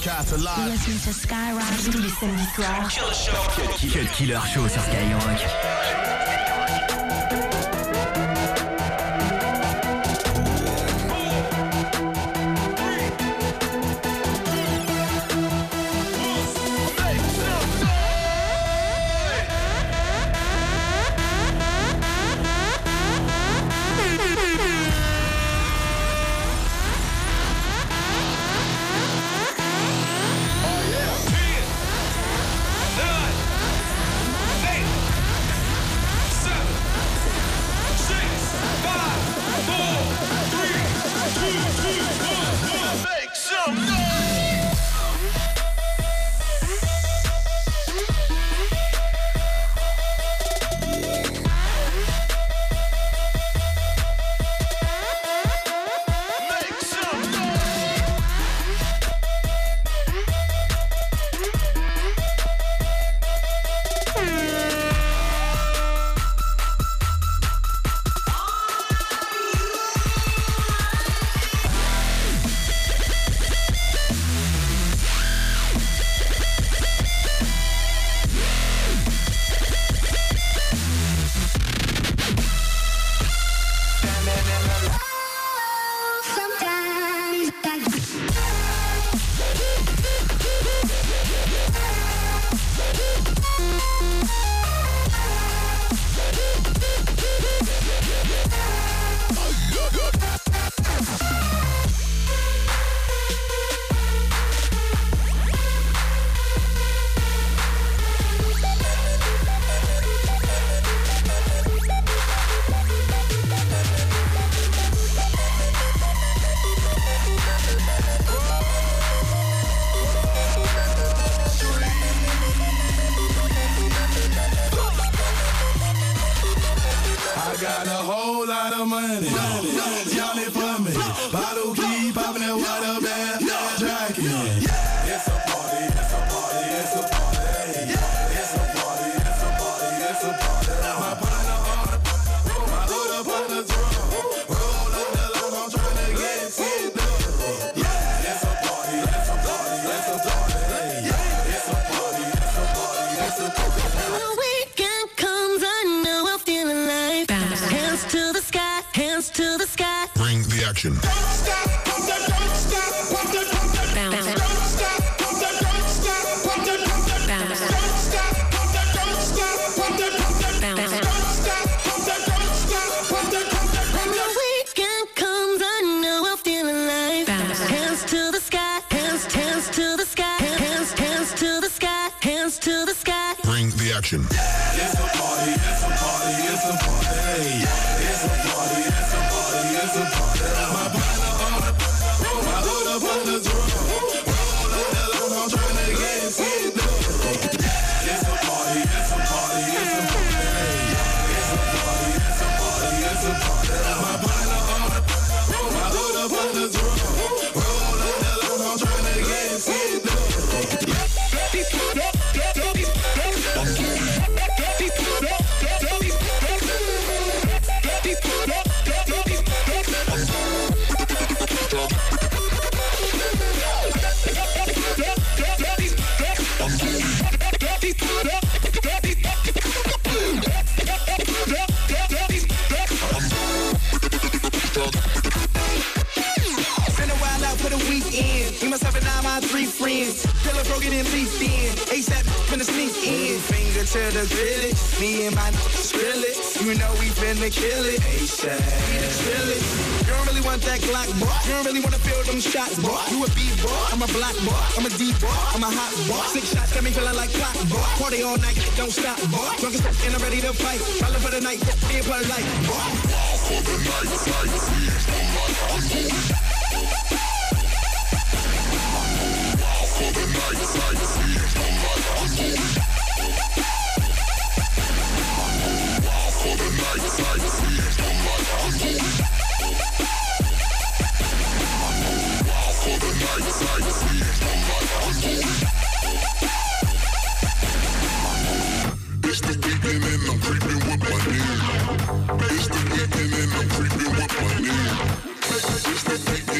broadcast live. Listen to Skyrock tous les samedis soirs. Cut Killer Show sur Skyrock. I'm a hot boy. 6 shots got me feeling like clock boy. Party all night, don't stop boy. Drunk as fuck and I'm ready to fight. Rolling for the night, be a part of life boy. For the night, night, for the night, for the It's the weekend and I'm creeping with my nigga. It's the weekend and I'm creeping with my nigga. It's the weekend.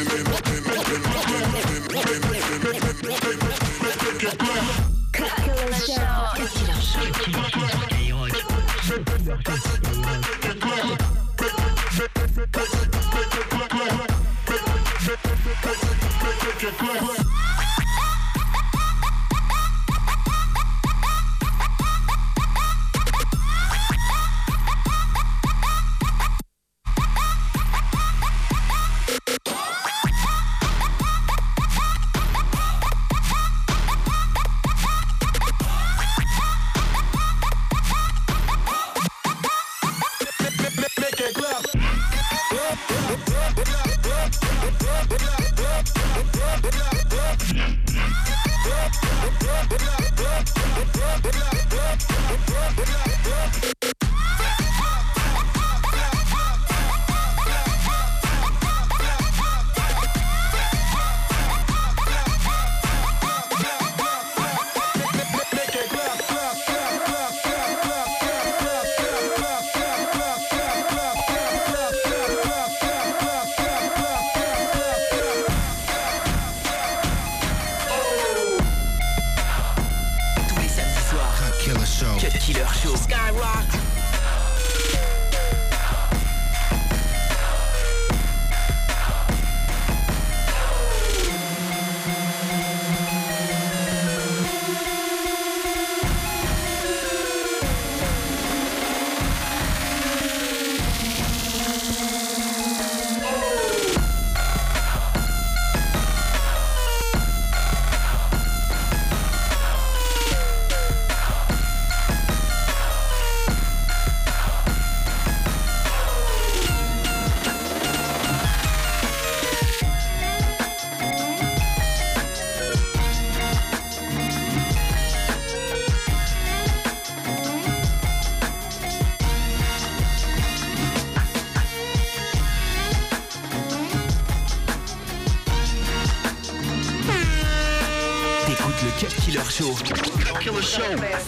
Show. Killer Show.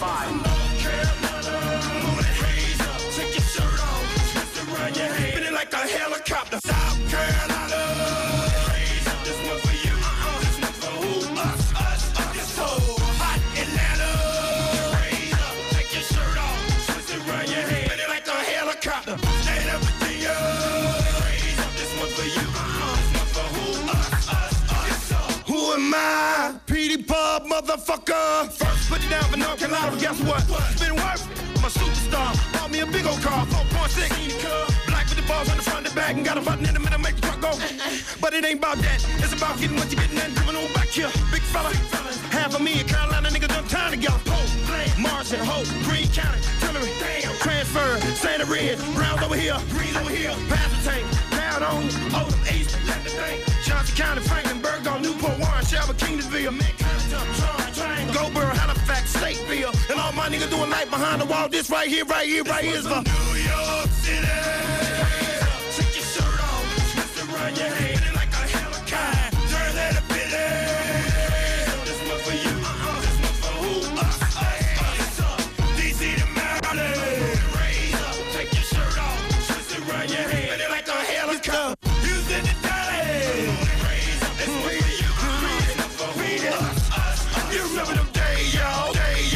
Like a helicopter. South Carolina. This one for you. This one for who? Us. This whole hot Atlanta. Raise up, take your shirt off, twist it around your head. Spin it like a helicopter. Stand up, Virginia. Raise up, this one for you. This one for who? Us. Who am I? Petey Pub, motherfucker. First, put it down for North Carolina. Guess what? It's been worth. I'm a superstar. Bought me a big old car, 4.6. Black with the balls on the front and back, and got a button in the middle, make the truck go. But it ain't about that. It's about getting what you getting and coming on back here. Big fella. Half of me and Carolina niggas done time together. Pole, Morrison, Hope, Green County, Tillery, Transfer, Santa Red, Browns over here, Greens over here, Pastor Tank, Pound on, Oldham, East, let the thing. Johnson County, Franklinburg, on Newport, Warren, Shelby, Kingsville, Goldboro, Halifax, Stateville, and all my niggas doing life behind the wall. This right here is for New York City. Take your shirt off, twist it around your head like a helicopter. Turn that a bit. This one for you, this one for who? Us. DC to Maryland. Raise up, take your shirt off, twist it around your head like a helicopter. Houston to Dallas. Raise up, this one for you, this one for who? Us. You remember them days, y'all.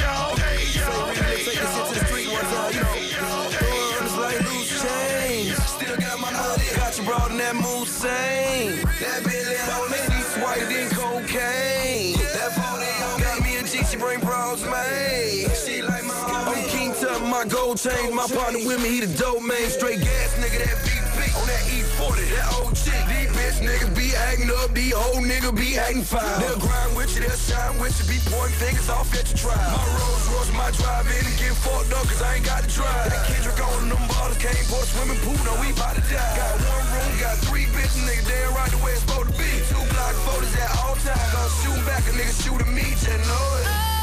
Brought in that Moussain. That Billy on me, white than cocaine. That 40 got me a G, she bring bras, man. She like my I'm King Tut, my gold chain. My partner with me, he the dope man. Straight gas nigga, that VP. On that E40, that old chick. These bitch niggas be acting up, these old niggas be acting foul. They'll grind with you, they'll shine with you, be pointing fingers off at your trial. My Rolls Royce, my drive-in and get fucked up, cause I ain't got to drive. That Kendrick on them bottles, can't pour a swimming pool, no, we bout to die. Got one room, got 3 bitches, nigga, damn right the way it's supposed to be. 2 block photos at all times, I'm shooting back, a nigga shooting me, just know it.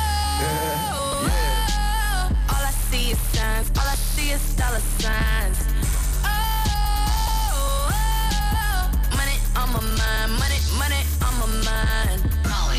All I see is signs, all I see is dollar signs. Money on my mind, money on my mind. Molly.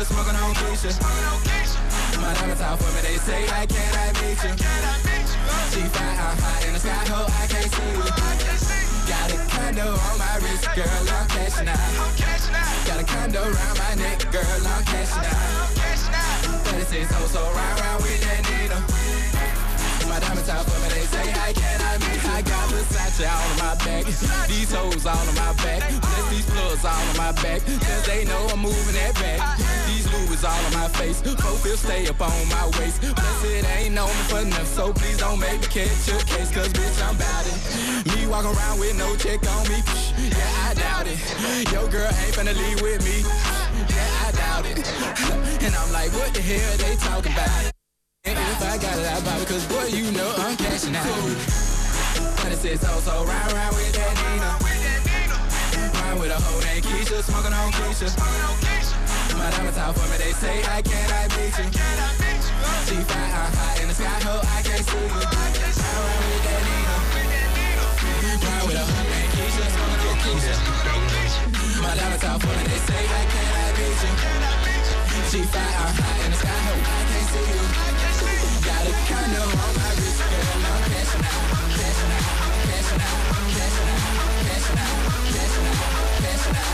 Keisha, smoking on Keisha. My diamonds out for me, they say, how can I meet you? She fine, I'm high in the sky, ho, I can't see you. Got a condo on my wrist, girl, I'm cashing out. Got a condo around my neck, girl, I'm cashing out. 36 hoes, so round with that needle. My diamonds out for me, they say, how can I meet you? I got Versace all on my back, these hoes all on my back, plus these plugs all on my back, cause they know I'm moving that back. These Louis all on my face, both will stay up on my waist, plus it ain't known me for nothing, so please don't make me catch your case, cause bitch I'm bout it. Me walk around with no check on me, yeah I doubt it. Your girl ain't finna leave with me, yeah I doubt it. And I'm like, what the hell they talking about? And if I got it, I buy it, cause boy, you know I'm cashing out. 26 hoes, so round with that Nina. Ride with a hoe named Keisha, smoking on Keisha. My diamonds out for me, they say, how can I meet you? She fine, I'm high in the sky, ho, I can't see you. Ride with that Nina. Ride with a hoe named Keisha, smoking on Keisha. My diamonds out for me, they say, how can I meet you? She fine, I'm high in the sky, ho, I can't see you. Got a condo on my wrist, girl, I'm cashing out, cashing out, cashing out, cashing out, cashing out, cashing out, cashing out,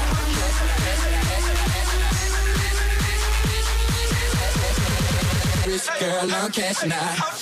cashing out, girl, I'm cashing out.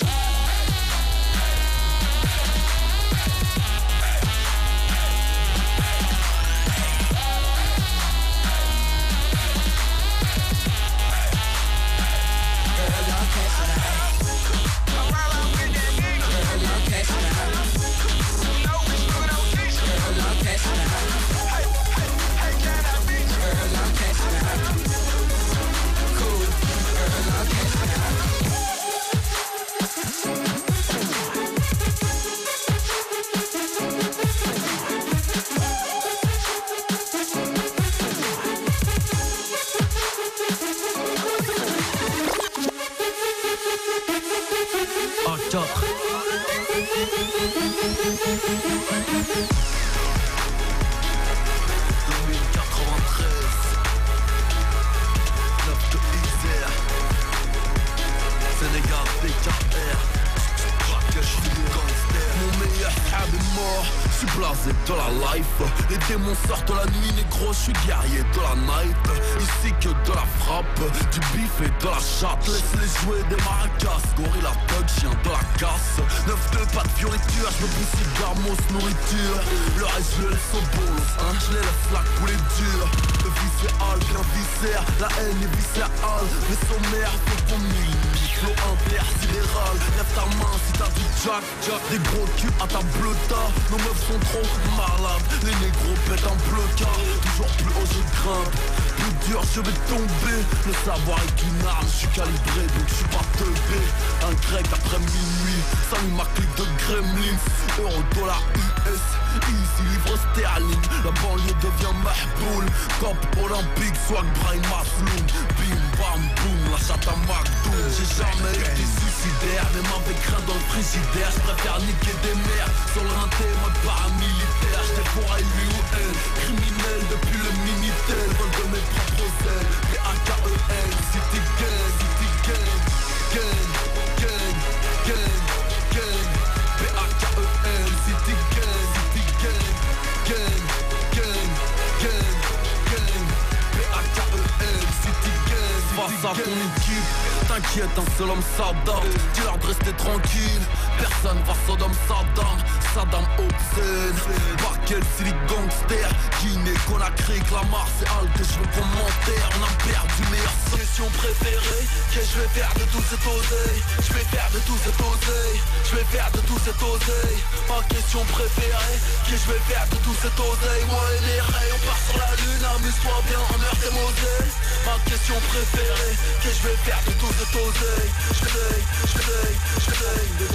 De la life, les démons sortent la nuit, négro, je suis guerrier de la night. Ici que de la frappe, du bif et de la chatte. Laisse-les jouer des maracas, gorilla thug, chien de la casse. 9-2, pas de fioriture, je me pousse cigare, mousse, nourriture. Le reste je le laisse au bolos, hein, je les laisse là couler dur. Le viscéral, bien viscère, la haine est viscérale. Les sommaires, faut qu'on mille, flow intersidéral. Lève ta main si t'as du jack, des gros culs à ta bleuta. Nos meufs sont trop malades, les négros pètent un blocard. Toujours plus haut je grimpe, plus dur je vais tomber. Le savoir est une arme, je suis calibré donc je suis pas teubé. Un grec après minuit, ça met ma clique de gremlins. Euro, dollar, US, easy, livre sterling. La banlieue devient mahboul. Cop olympique, swag, brain, masloum. Bim, bam, boum, la chatte à McDoom. J'ai jamais été suicidaire, même avec rien dans le frigidaire. Je préfère niquer des mères sur le rinté, mode paramilitaire. J'étais pour lui ou elle, criminel depuis le Minitel. Vol de mes propres ailes, P-A-K-E-N. City gang, city gang, gang, gang, gang, gang. P-A-K-E-N, city gang, city gang, gang, gang, gang, gang. P-A-K-E-N, city gang. Face à ton équipe, t'inquiète, un seul homme s'adapte. Dis-leur de rester tranquille, personne va Sodom Saddam, Saddam Hussein. Par quel silly gangster, Guinée, Conakry, Clamart, c'est Al que je veux commentaire. On a perdu meilleure question préférée. Qu'est-ce que je vais faire de tout cet oseille? Je vais faire de tout cet oseille. Je vais faire de tout cet oseille. Ma question préférée, qu'est-ce que je vais faire de tout cet oseille? Moi et les rays, on part sur la lune, amuse-toi bien, en meurt et Moselle. Ma question préférée, qu'est-ce que je vais faire de tout cet oseille? Je vais